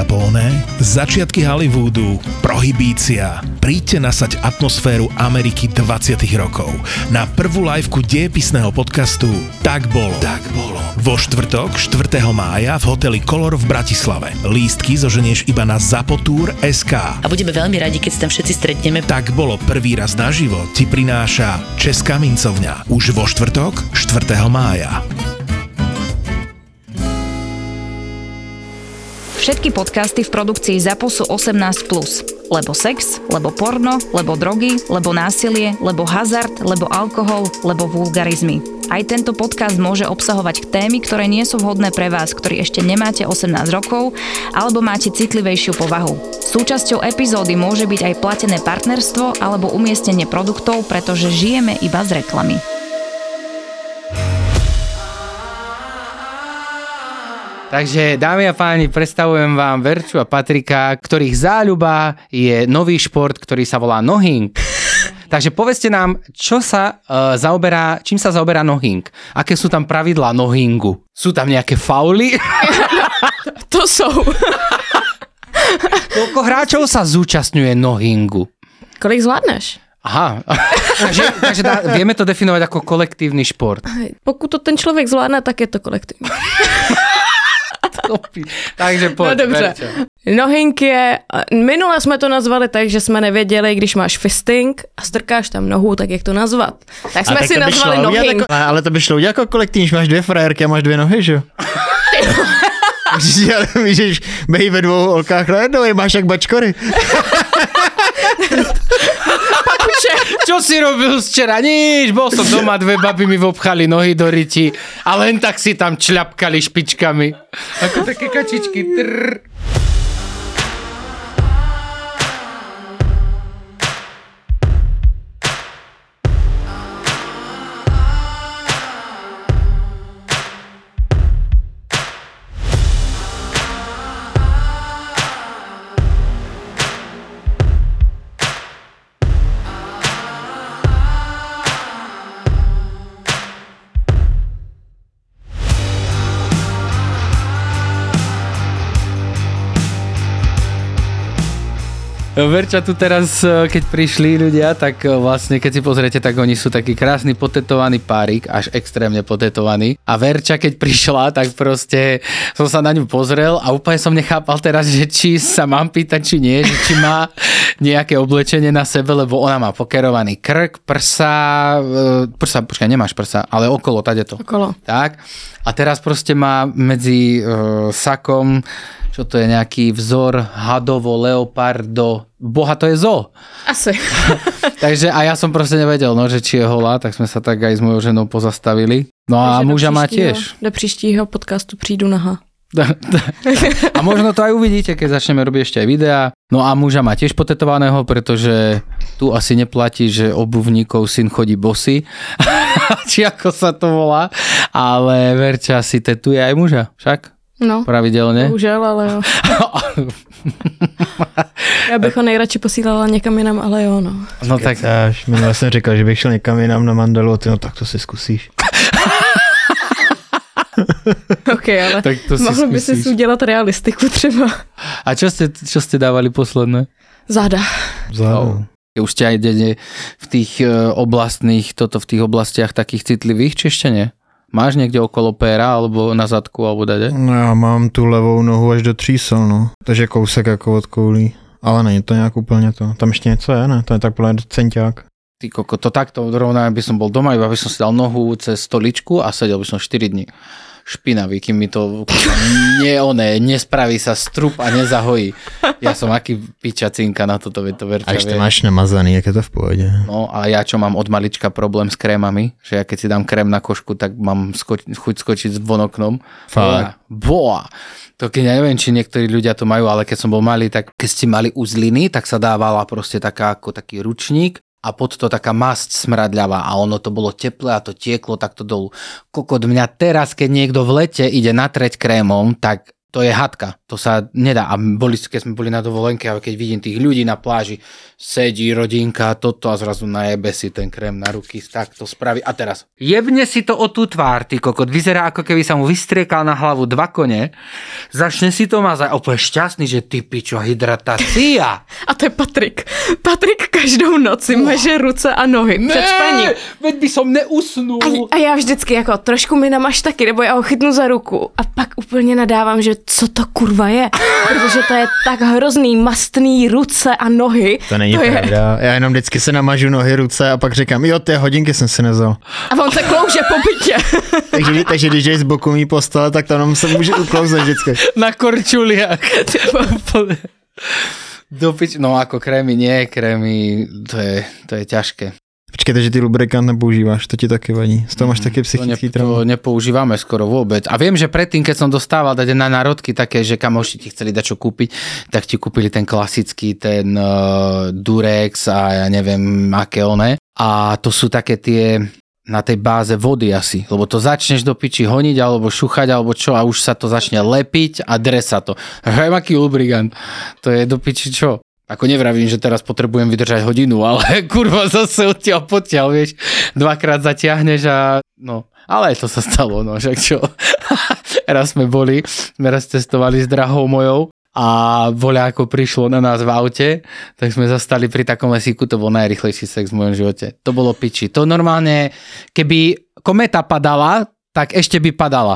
Capone, začiatky Hollywoodu, prohibícia. Príďte nasať atmosféru Ameriky 20. rokov na prvú liveku dejepisného podcastu Tak bolo. Vo štvrtok, 4. mája v hoteli Color v Bratislave. Lístky zoženieš iba na zapotur.sk. A budeme veľmi radi, keď sa tam všetci stretneme. Tak bolo prvý raz naživo ti prináša Česká mincovňa. Už vo štvrtok, 4. mája. Všetky podcasty v produkcii ZAPO sú 18+. Lebo sex, lebo porno, lebo drogy, lebo násilie, lebo hazard, lebo alkohol, lebo vulgarizmy. Aj tento podcast môže obsahovať témy, ktoré nie sú vhodné pre vás, ktorí ešte nemáte 18 rokov, alebo máte citlivejšiu povahu. Súčasťou epizódy môže byť aj platené partnerstvo alebo umiestnenie produktov, pretože žijeme iba z reklamy. Takže, dámy a páni, predstavujem vám Verču a Patrika, ktorých záľuba je nový šport, ktorý sa volá nohing. Takže povedzte nám, čím sa zaoberá nohing? Aké sú tam pravidlá nohingu? Sú tam nejaké fauly? To sú. Koľko hráčov sa zúčastňuje nohingu? Kolik zvládneš? Aha, takže vieme to definovať ako kolektívny šport. Pokud to ten člověk zvládne, tak je to kolektivní. Takže poď, no dobře. Verča. Nohing je, minule jsme to nazvali tak, že jsme nevěděli, když máš fisting a strkáš tam nohu, tak jak to nazvat. Tak jsme si nazvali nohing. Ale to by šlo udělat jako kolektivní, že máš dvě frajerky a máš dvě nohy, že jo? Můžeš bejt ve dvou holkách najednou, máš jak bačkory. Čo si robil včera? Nič, bol som doma, dve baby mi vopchali nohy do ryti a len tak si tam čľapkali špičkami. Ako také kačičky. Trrr. Verča tu teraz, keď prišli ľudia, tak vlastne, keď si pozriete, tak oni sú taký krásny potetovaný párik, až extrémne potetovaný. A Verča, keď prišla, tak proste som sa na ňu pozrel a úplne som nechápal teraz, že či sa mám pýtať, či nie, že či má nejaké oblečenie na sebe, lebo ona má pokerovaný krk, počkaj, nemáš prsa, ale okolo, tadeto. Okolo. Tak. A teraz proste má medzi sakom, čo to je, nejaký vzor hadovo, leopardo, boha, to je zoo. Asi. Takže a ja som proste nevedel, no, že či je holá, tak sme sa tak aj s mojou ženou pozastavili. No a muža má tiež. Do příštího podcastu přijdu naha. A možno to aj uvidíte, keď začneme robiť ešte aj videá. No a muža má tiež potetovaného, pretože tu asi neplatí, že obuvníkov syn chodí bosy. Či ako sa to volá. Ale Verča si tetuje aj muža, však? No, pravidelně. Bohužel, ale jo. Já bych ho nejradši posílala někam jinam, ale jo, no. No tak minule jsem říkal, že bych šel někam jinam na Mandelu, no tak to si zkusíš. OK, ale tak to mohlo by si udělat realistiku třeba. A čo ste dávali posledné? Záda. No. Už ste aj v tých oblastných, v tých oblastiach takých citlivých, či ešte nie? Máš někde okolo péra, alebo na zadku, alebo dade? No já mám tu levou nohu až do třísel, no. Takže kousek jako od koulí. Ale není to nějak úplně to. Tam ještě něco je, ne? To je tak podle centiák. Ty koko, to takto rovná, by som bol doma, iba by som si dal nohu cez stoličku a sedel by som 4 dní. Špinavý, kým mi to nespraví sa strup a nezahojí. Ja som aký pičacinka na toto, to Verča. A ešte máš namazaný, jak je to v pohode. No a ja čo mám od malička problém s krémami, že ja keď si dám krém na košku, tak mám chuť skočiť von oknom. Fakt. Boa. To keď ja neviem, či niektorí ľudia to majú, ale keď som bol malý, tak keď ste mali uzliny, tak sa dávala proste taký ručník a pod to taká masť smradľavá a ono to bolo teplé a to tieklo takto dolu. Kokot, mňa teraz, keď niekto v lete ide natreť krémom, tak To je hadka, to sa nedá. A keď sme boli na dovolenke, a keď vidím tých ľudí na pláži, sedí rodinka, toto a zrazu najebe si ten krém na ruky, tak to spraví. A teraz, jebne si to o tú tvár, ty kokot, vyzerá ako keby sa mu vystriekal na hlavu 2 kone, začne si to mazať, úplne šťastný, že ty pičo, hydratácia. A to je Patrik. Patrik každou noci maže ruce a nohy před spaním. Veď by som neusnul. A já vždycky jako trošku mi namaž taky, nebo já ho chytnu za ruku a pak úplně nadávám, že co to kurva je, protože to je tak hrozný, mastný ruce a nohy. To není pravda. Já jenom vždycky se namažu nohy, ruce a pak říkám, jo, ty hodinky jsem si nevzal. A on se klouže po bytě. takže když jdeš z boku mý postele, tak tam se může uklouzet vždycky. Na korčuliach. No ako krémy, to je ťažké. Počkej, takže ty lubrikant nepoužíváš, to ti taky vadí. Z toho máš taky psychický trauma. To nepoužívame skoro vôbec. A viem, že predtým, keď som dostával dať na národky také, že kamoši ti chceli dať čo kúpiť, tak ti kúpili ten klasický, ten Durex a ja neviem, aké oné. A to sú také tie na tej báze vody asi, lebo to začneš do piči honiť alebo šuchať alebo čo a už sa to začne lepiť a dresa to. Hej, aký lubrikant. To je do piči čo? Ako nevravím, že teraz potrebujem vydržať hodinu, ale kurva zase odtiaľ, vieš, 2-krát zatiahneš a no, ale to sa stalo, no, však čo. Raz cestovali s drahou mojou a voľako prišlo na nás v aute, tak sme zastali pri takom lesíku, to bol najrýchlejší sex v mojom živote. To bolo piči. To normálne, keby kometa padala, tak ešte by padala.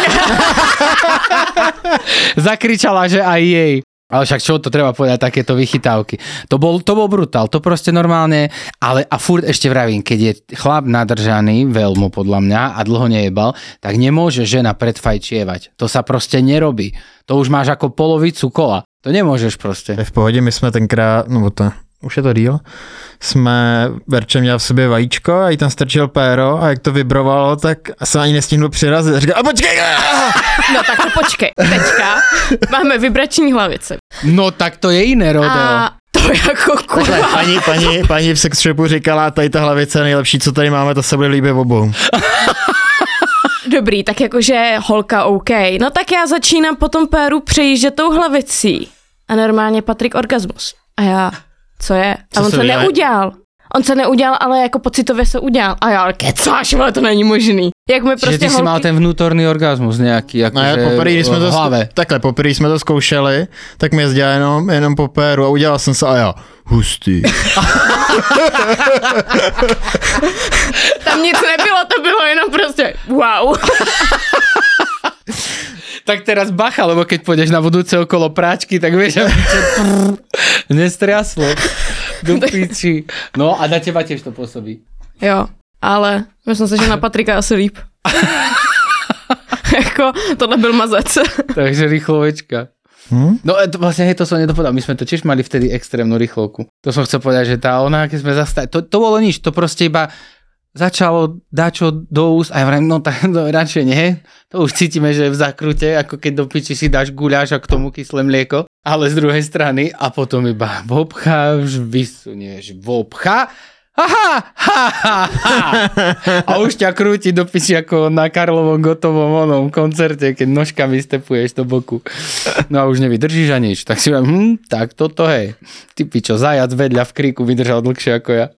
Zakričala, že aj jej. Ale však čo to treba povedať, takéto vychytávky. To bol brutál, to proste normálne, ale a furt ešte vravím, keď je chlap nadržaný, veľmi podľa mňa a dlho nejebal, tak nemôže žena predfajčievať. To sa proste nerobí. To už máš ako polovicu kola. To nemôžeš proste. V pohodě, my jsme tenkrát, no to, už je to díl, jsme Verče měl v sobě vajíčko a jí tam strčil péro a jak to vibrovalo, tak jsem ani nestihnul přirazit. A říkal, a počkej! No tak to počkej, teďka máme vibrační hlavice. No tak to je jiné rodeo. A to jako kurva. Paní v sex shopu říkala, tady ta hlavice je nejlepší, co tady máme, to se bude líbit obou. Dobrý, tak jakože holka OK. No tak já začínám po tom péru přejíždět tou hlavicí. A normálně Patrik orgasmus. A já, co je? A on se neudělal. On se neudělal, ale jako pocitově se udělal. A já, ale kecáš, ale to není možný. Jak mi prostě ty si mal ten vnútorný orgasmus nejaký, akože v hlave. Poprvé jsme to zkoušeli, tak mi jezdila jenom po péru a udělal jsem se a já, hustý. Tam nic nebylo, to bylo jenom prostě wow. Tak teraz bacha, lebo keď pôjdeš na budúce okolo práčky, tak vieš, aby čo nestriaslo do piči. No a na teba tiež to pôsobí. Jo, ale myslím si, že na Patrika asi líp. Jako, tohle byl mazec. Takže rýchlovečka. No vlastne, hej, to som nedopovedal. My sme to tiež mali vtedy extrémnu rýchlovku. To som chcel povedať, že tá ona, keď sme zastali, to bolo nič, to proste iba začalo dačo do úst a ja vrajím, no tak no, radšej nie. To už cítime, že je v zakrute, ako keď do piči si dáš guľáš a k tomu kyslé mlieko, ale z druhej strany a potom iba vobcháš, vysunieš, vobcha, a už ťa krúti do piči ako na Karlovom Gotovom onom koncerte, keď nožkami stepuješ do boku. No a už nevydržíš a nič. Tak si vám, tak toto hej. Ty pičo, zajac vedľa v kríku vydržal dlhšie ako ja.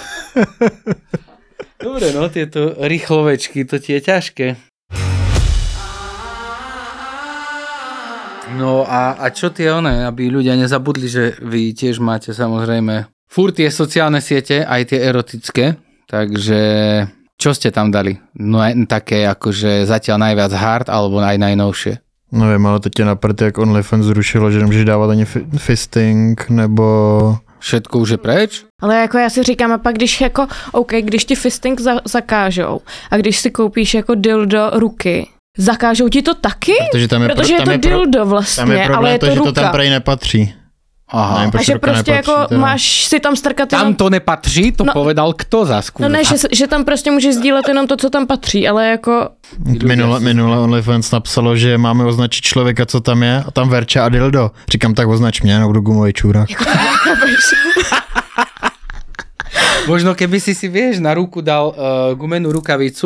Dobre, no tieto rýchlovečky, to ti je ťažké. No a čo tie one, aby ľudia nezabudli, že vy tiež máte samozrejme furt tie sociálne siete, aj tie erotické, takže čo ste tam dali? No také akože zatiaľ najviac hard, alebo aj najnovšie? Nevím, ale teď je na prd, jak OnlyFans zrušilo, že nemůžeš dávat ani fisting, nebo... Všetko už je preč? Ale jako já si říkám, a pak když jako, OK, když ti fisting zakážou a když si koupíš jako dildo ruky, zakážou ti to taky? Protože je to dildo vlastně, tam je problém, ale je to že ruka. to tam prej nepatří. Aha. Nevím, a že prostě nepatří, jako teda. máš si tam strkat jenom... Tam to nepatří, to povedal kto za skúr. No ne, že tam prostě můžeš sdílet jenom to, co tam patří, ale jako... Minule OnlyFans napsalo, že máme označit člověka, co tam je, a tam Verča a dildo. Říkám, tak označ mě, nebo gumový čůrak. Možno keby si vieš na ruku dal gumenú rukavicu,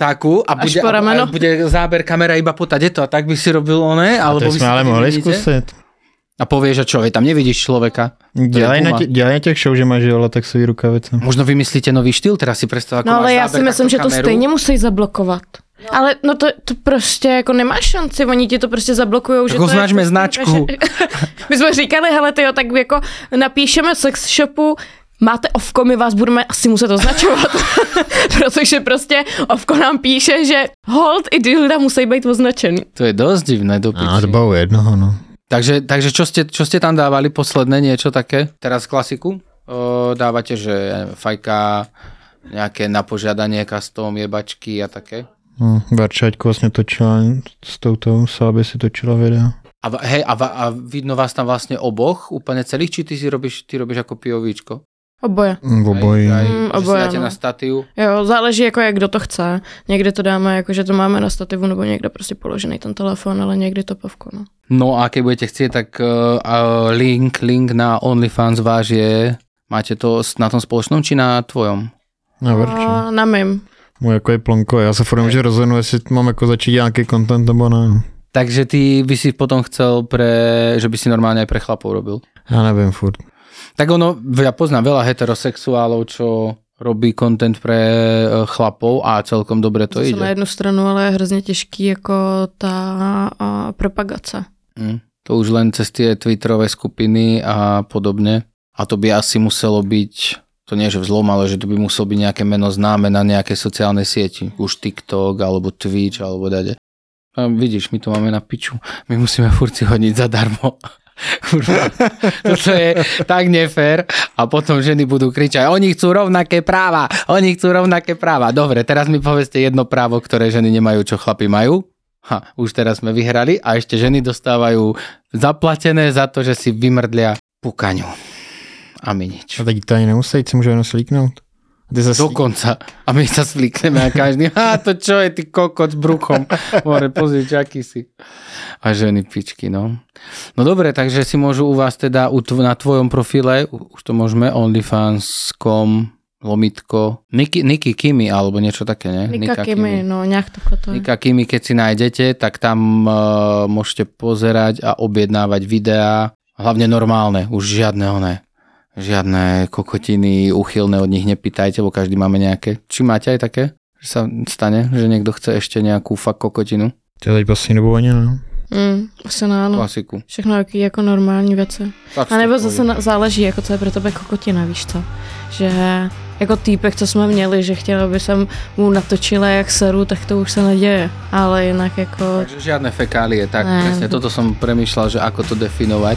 takú a bude záber kamera iba potať, je to a tak by si robil one, alebo to by sme ale mohli skúsiť. A povieš, že čo, tam nevidíš človeka. Dělej na těch show, že máš latexový rukavice. Možno vymyslíte nový štýl, teraz si predstav, ako no ale máš já si myslím, že to stejně musí zablokovat. No. Ale no to prostě jako nemáš šanci, oni ti to prostě zablokujou. Tak označme značku. My jsme říkali, hele tyjo, tak jako napíšeme sex shopu, máte Ovko, my vás budeme asi muset označovat, protože prostě Ovko nám píše, že hold i dilda musí být označený. To je dosť divné do piči. To bylo jednoho, no. Takže čo ste tam dávali posledné, niečo také? Teraz klasiku? Dávate, že fajka, nejaké na požiadanie, custom, jebačky a také? Verčaťko vlastně točila s touto, Sáby si točila videa. A vidno vás tam vlastne oboch, úplne celých, či ty robíš ako POVčko? Oboje. Oboje. Oboje, dáte na stativ? Jo, záleží jako jak kdo to chce. Někdy to dáme jako, že to máme na stativu, nebo někde prostě položený ten telefon, ale někdy to povko, no. No a keď budete chcieť, tak link na OnlyFans váš je, máte to na tom spoločnom, či na tvojom? Na Verči. Na mým. Můj jako je plonko, já se furt že rozhodnu, jestli mám jako začít nějaký content nebo ne. Takže ty by si potom chcel, že by si normálne aj pre chlapov robil? Já nevím furt. Tak ja poznám veľa heterosexuálov, čo robí content pre chlapov a celkom dobre to ide. Na jednu stranu, ale je hrozně těžký jako ta propagace. To už len cez tie twitterové skupiny a podobne. A to by asi muselo byť, to nie že vzlom, ale že to by muselo byť nejaké meno známe na nejakej sociálnej sieti. Už TikTok, alebo Twitch, alebo dade. A vidíš, my to máme na piču. My musíme furt si hodiť zadarmo. Kurva, toto je tak nefér a potom ženy budú kričať, oni chcú rovnaké práva. Dobre, teraz mi povedzte jedno právo, ktoré ženy nemajú, čo chlapi majú. Už teraz sme vyhrali a ešte ženy dostávajú zaplatené za to, že si vymrdlia pukaňu. A my nič. A teď to ani nemusí, si môžu jenom slíknout. Dokonca. A my sa slíkneme a každý, to čo je ty kokot s bruchom. More, pozrieť, aký si. A ženy pičky, no. No dobre, takže si môžu u vás teda na tvojom profile, už to môžeme, onlyfans.com Nikki Kimi, alebo niečo také, ne? Nika Kimi, no nejak to. Nika Kimi, keď si nájdete, tak tam môžete pozerať a objednávať videá, hlavne normálne, už žiadne kokotiny uchylné od nich nepýtajte, bo každý máme nejaké. Či máte aj také? Že sa stane, že niekto chce ešte nejakú fakt kokotinu? To teď poslední dobu ani ne. Asi ne, no. Klasiku. Všechno jaký jako normální věci. A nebo zase záleží, jako co je pro tebe kokotina, víš co? Že jako týpek, co jsme měli, že chtěl, aby jsem mu natočila jak seru, tak to už se neděje. Ale jinak jako... Takže žiadne fekálie, tak ne. Presne. Toto som premýšľal, že ako to definovať.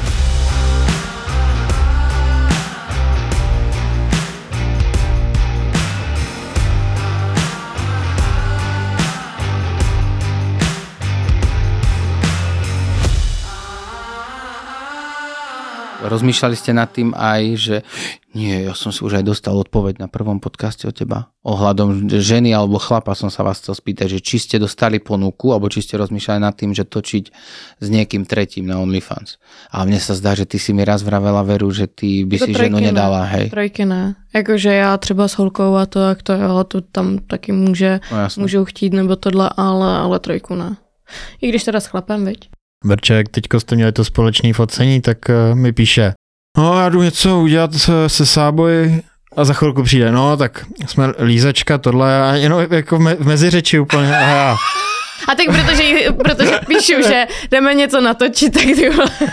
Rozmýšľali ste nad tým aj, že nie, ja som si už aj dostal odpoveď na prvom podcaste od teba. Ohľadom ženy alebo chlapa som sa vás chcel spýtať, že či ste dostali ponuku, alebo či ste rozmýšľali nad tým, že točiť s niekým tretím na OnlyFans. A mne sa zdá, že ty si mi raz vravela, Veru, že ty by si ženu nedala, hej. Trojky ne. Jakože já třeba s holkou a to, jak to jo, to tam taky můžou chtít nebo tohle, ale trojku ne. I když teda s chlapem, viď? Verček, teďko jste měli to společné focení, tak mi píše, no já jdu něco udělat se Sáboj a za chvilku přijde, no tak jsme lízačka, tohle a jenom jako v meziřeči úplně a já. A tak protože píšu, že jdeme něco natočit, tak ty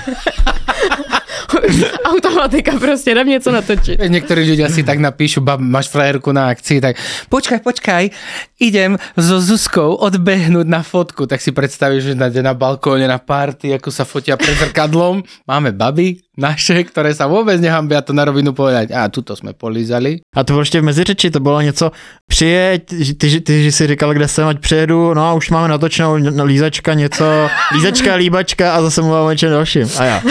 automatika prostě, jdem něco natočit. Niektorí ľudia si tak napíšu, máš frajerku na akcii, tak počkaj, idem so Zuzkou odbehnúť na fotku, tak si predstavíš, že na balkóne na party, ako sa fotia pred zrkadlom. Máme baby naše, ktoré sa vôbec nehambia to na rovinu povedať. A tuto jsme polízali. A to bylo ještě v meziřeči, to bylo něco, přijeď, ty si říkal, kde jsem, ať přijedu, no a už máme natočenou lízačka, něco, lízačka, líbačka a zase mluvám o něčem dalším. A já.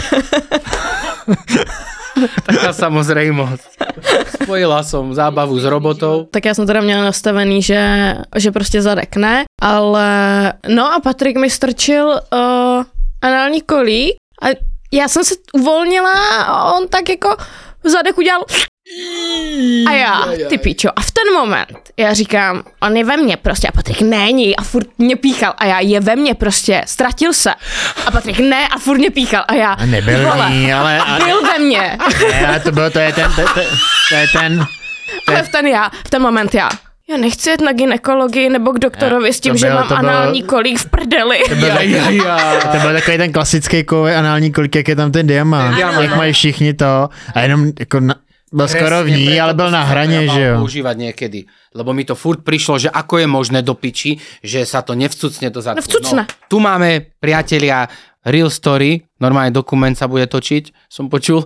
Taká samozrejmosť. Spojila som zábavu s robotou. Tak já jsem teda měla nastavený, že prostě zadek ne, ale no a Patrik mi strčil anální kolík a já jsem se uvolnila a on tak jako zadek udělal A já, ty pičo, a v ten moment já říkám, on je ve mně prostě a Patrik není a furt mě píchal a já je ve mně prostě, ztratil se a Patrik ne a furt mě píchal a já, A nebyl ní, ale... byl ve mně. Ne, ale to je ten... Ale v ten moment já nechci jet na gynekologii nebo k doktorovi s tím, že mám anální kolík v prdeli. To byl takový ten klasický kovový anální kolík, jak je tam ten diamant, jak mají všichni to a jenom jako byl skoro v ní, ale byl na hraně, že jo. Používať niekedy, lebo mi to furt prišlo, že ako je možné do piči, že sa to nevcucne do zadku. Nevcucne. No, tu máme, priatelia, real story, normálne dokument sa bude točiť, som počul.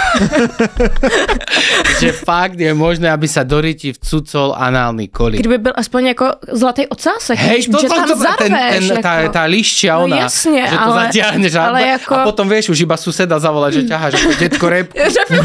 Že fakt je možné, aby sa do ryti vcucol análny kolík. Kdyby byl aspoň jako zlatý ocásek, Hej, že tam zarveš. Tá lišťa, No ona, jasne, že to zatiahneš a potom vieš už iba suseda zavolať, že ťaháš ako detko repku.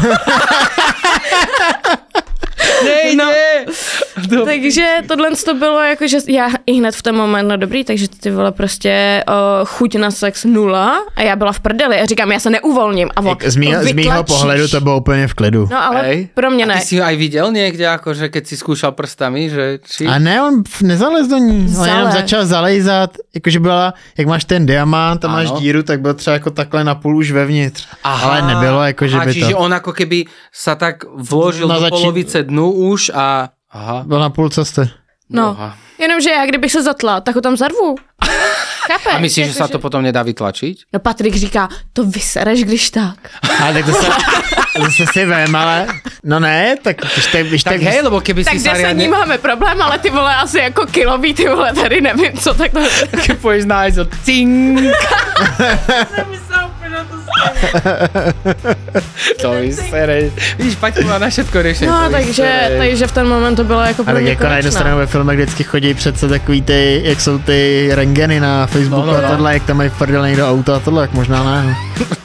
Ne. Takže tohle to bylo jako, že já i hned v ten moment, no dobrý, takže ty vole prostě chuť na sex 0 a já byla v prdeli a říkám, já se neuvolním a on Z mýho pohledu to bylo úplně v klidu. No ale pro mě ne. A ty si ho aj videl niekde, akože keď si skúšal prstami, že či... A ne, on nezalez do ní, on jenom začal zalejzat, jakože byla, jak máš ten diamant a máš díru, tak byl třeba jako takhle na půl už vevnitř. Aha, ale nebylo jako, že by to... Čiže on ako keby sa tak vložil do polovice dnu už a... Aha. Byl na půl cesty. No, jenomže já kdybych se zatla, tak ho tam zarvu. Chápeš? A myslíš, že sa to potom nedá vytlačiť? No Patrik říká, to vysereš, když tak. Ale tak to se si vem, ale... No ne, tak... Tak hej, lebo keby tak si sa riadne... Tak máme problém, ale ty vole asi jako kilový, ty vole, tady nevím, co takhle... Keď pôjdeš nájsť o cink. To vysereš. Vidíš, Paťko má na všetko riešenie. No, takže v ten moment to bylo jako pro mě jako na jednu stranu ve filmech vždycky chodí přece takový ty, jak jsou ty rentgeny na Facebooku a tohle, jak tam mají v prdele někdo auto a tohle, jak možná ne.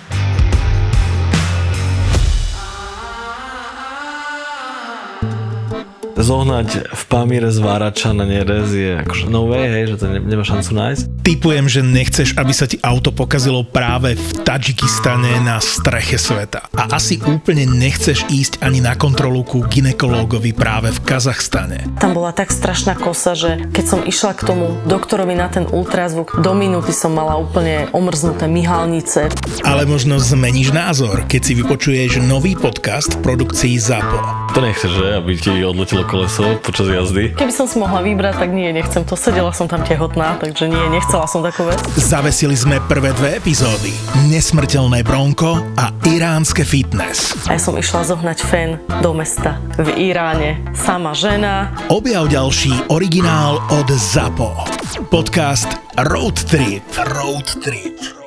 Zohnať v Pamíre zvárača na nerez je akože no way, hej, že to nemá šancu nájsť. Tipujem, že nechceš, aby sa ti auto pokazilo práve v Tadžikistane na streche sveta. A asi úplne nechceš ísť ani na kontrolu ku gynekológovi práve v Kazachstane. Tam bola tak strašná kosa, že keď som išla k tomu doktorovi na ten ultrazvuk, do minúty som mala úplne omrznuté myhalnice. Ale možno zmeníš názor, keď si vypočuješ nový podcast v produkcii ZAPO. To nechceš, že? Aby ti odletelo koleso počas jazdy? Keby som si mohla vybrať, tak nie, nechcem to. Sedela som tam tehotná, takže nie, nechcela som takú vec. Zavesili sme prvé 2 epizódy. Nesmrteľné bronko a iránske fitness. A ja som išla zohnať fen do mesta v Iráne. Sama žena. Objav ďalší originál od ZAPO. Podcast Road Trip.